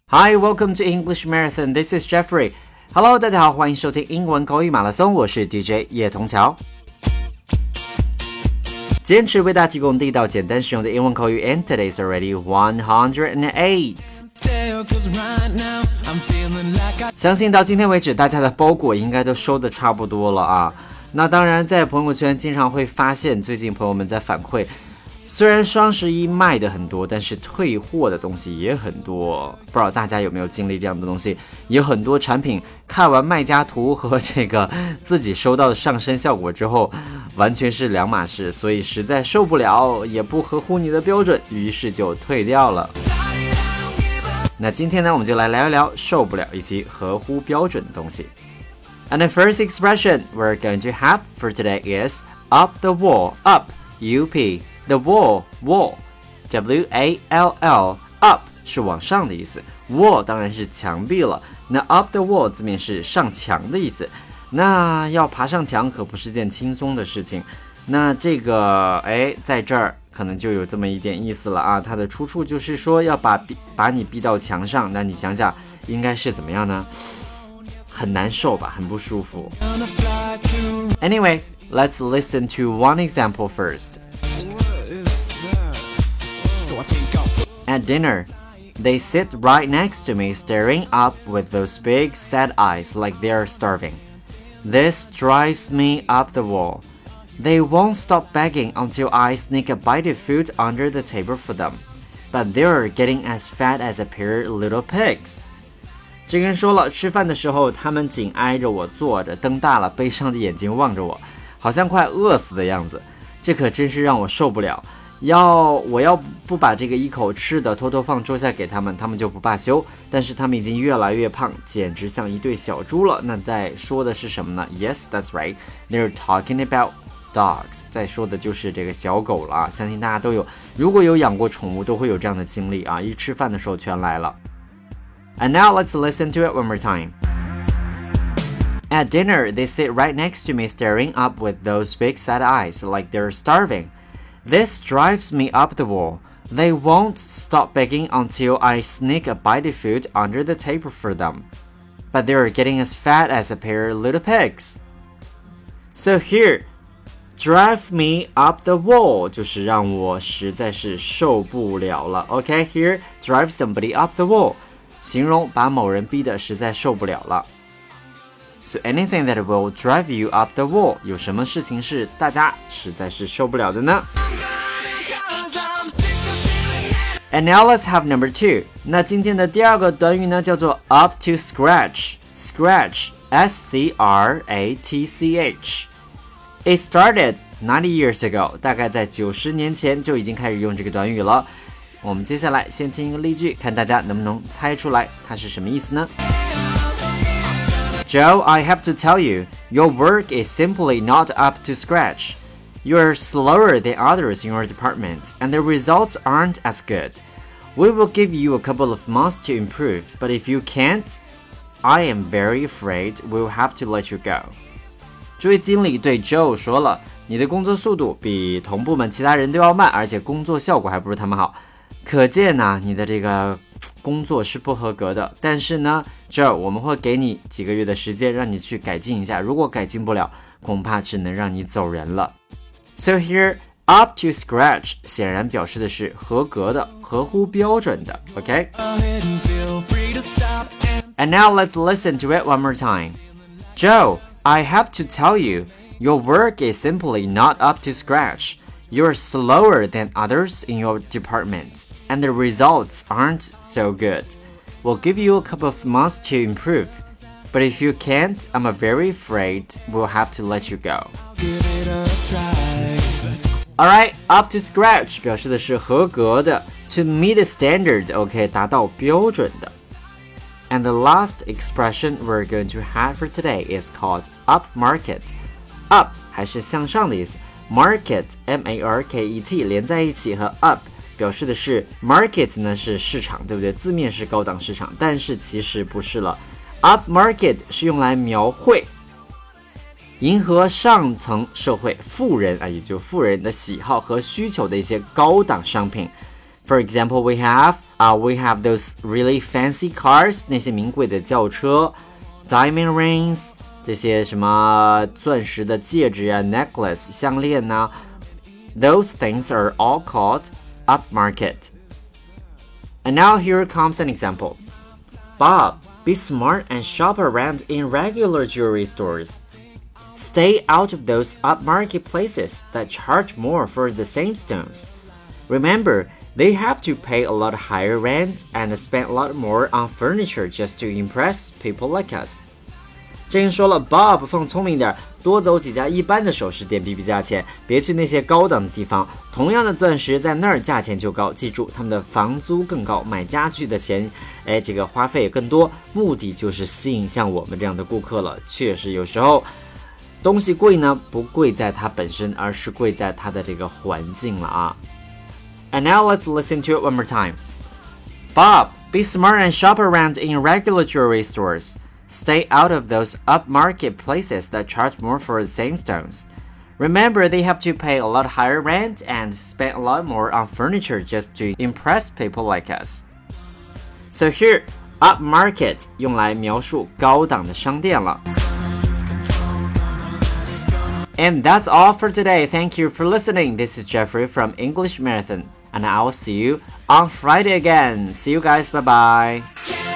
Hi, welcome to English Marathon. This is Jeffrey. Hello, 大家好，欢迎收听英文口语马拉松，我是 DJ 叶童桥。坚持为大家提供地道简单实用的英文口语 and today's already 108. 相信到今天为止，大家的包裹应该都收得差不多了啊。那当然，在朋友圈经常会发现，最近朋友们在反馈，虽然双11卖的很多，但是退货的东西也很多。不知道大家有没有经历这样的东西？有很多产品看完卖家图和这个自己收到的上身效果之后，完全是两码事，所以实在受不了，也不合乎你的标准，于是就退掉了。那今天呢，我们就来聊一聊受不了以及合乎标准的东西。And the first expression we're going to have for today is up the wall. Up, U-P, the wall, wall, W-A-L-L, up 是往上的意思， wall 当然是墙壁了。那 up the wall 字面是上墙的意思，那要爬上墙可不是件轻松的事情。那这个在这儿可能就有这么一点意思了啊，它的出处就是说要把你逼到墙上，那你想想应该是怎么样呢？很难受吧，很不舒服。Anyway, let's listen to one example first. At dinner, they sit right next to me staring up with those big sad eyes like they're starving. This drives me up the wall. They won't stop begging until I sneak a bite of food under the table for them. But they're getting as fat as a pair of little pigs. 这个人说了，吃饭的时候他们紧挨着我坐着，瞪大了悲伤的眼睛望着我，好像快饿死的样子。这可真是让我受不了。我要不把这个一口吃的偷偷放桌下给他们，他们就不罢休。但是他们已经越来越胖，简直像一对小猪了。那在说的是什么呢？ Yes, that's right. They're talking about dogs. 在说的就是这个小狗了啊。相信大家都有，如果有养过宠物，都会有这样的经历啊。一吃饭的时候全来了。And now let's listen to it one more time. At dinner, they sit right next to me staring up with those big sad eyes like they're starving. This drives me up the wall. They won't stop begging until I sneak a bite of food under the table for them. But they're getting as fat as a pair of little pigs. So here, drive me up the wall 就是让我实在是受不了了。Okay, here, drive somebody up the wall. 形容把某人逼得实在受不了了。So anything that will drive you up the wall 有什么事情是大家实在是受不了的呢？ And now let's have number 2. 那今天的第二个短语呢，叫做 up to scratch. Scratch, S-C-R-A-T-C-H. It started 90 years ago. 大概在90年前就已经开始用这个短语了。我们接下来先听一个例句，看大家能不能猜出来它是什么意思呢？ Joe, I have to tell you, your work is simply not up to scratch. You're slower than others in your department, and the results aren't as good. We will give you a couple of months to improve, but if you can't, I am very afraid we'll have to let you go. 这位经理对 Joe 说了，你的工作速度比同部门其他人都要慢，而且工作效果还不如他们好。可见呢，你的这个工作是不合格的，但是呢，这我们会给你几个月的时间，让你去改进一下。如果改进不了，恐怕只能让你走人了。So here, up to scratch 显然表示的是合格的、合乎标准的。OK? And now let's listen to it one more time. Joe, I have to tell you, your work is simply not up to scratch. You're slower than others in your department, and the results aren't so good. We'll give you a couple of months to improve, but if you can't, I'm very afraid we'll have to let you go. Alright, up to scratch 表示的是合格的 to meet a standard, OK, 达到标准的。And the last expression we're going to have for today is called up market. Up 还是向上的意思。Market, M-A-R-K-E-T 连在一起和 up 表示的是 market 呢是市场，对不对？字面是高档市场，但是其实不是了。Up market 是用来描绘迎合上层社会富人也就富人的喜好和需求的一些高档商品。For example, we have We have those really fancy cars, 那些名贵的轿车 ，diamond rings， 这些什么钻石的戒指啊 ，necklace 项链呐、Those things are all called upmarket. And now here comes an example. Bob, be smart and shop around in regular jewelry stores. Stay out of those upmarket places that charge more for the same stones. Remember, they have to pay a lot higher rent and spend a lot more on furniture just to impress people like us. 正说了 Bob 放聪明点，多走几家一般的首饰店比比价钱，别去那些高档的地方。同样的钻石在那儿价钱就高，记住他们的房租更高，买家具的钱，这个花费也更多，目的就是吸引像我们这样的顾客了。确实有时候东西贵呢，不贵在它本身，而是贵在它的这个环境了啊。And now let's listen to it one more time. Bob, be smart and shop around in regular jewelry stores. Stay out of those upmarket places that charge more for the same stones. Remember, they have to pay a lot higher rent and spend a lot more on furniture just to impress people like us. So here, upmarket 用来描述高档的商店了。And that's all for today. Thank you for listening. This is Jeffrey from English Marathon, and I will see you on Friday again. See you guys. Bye bye.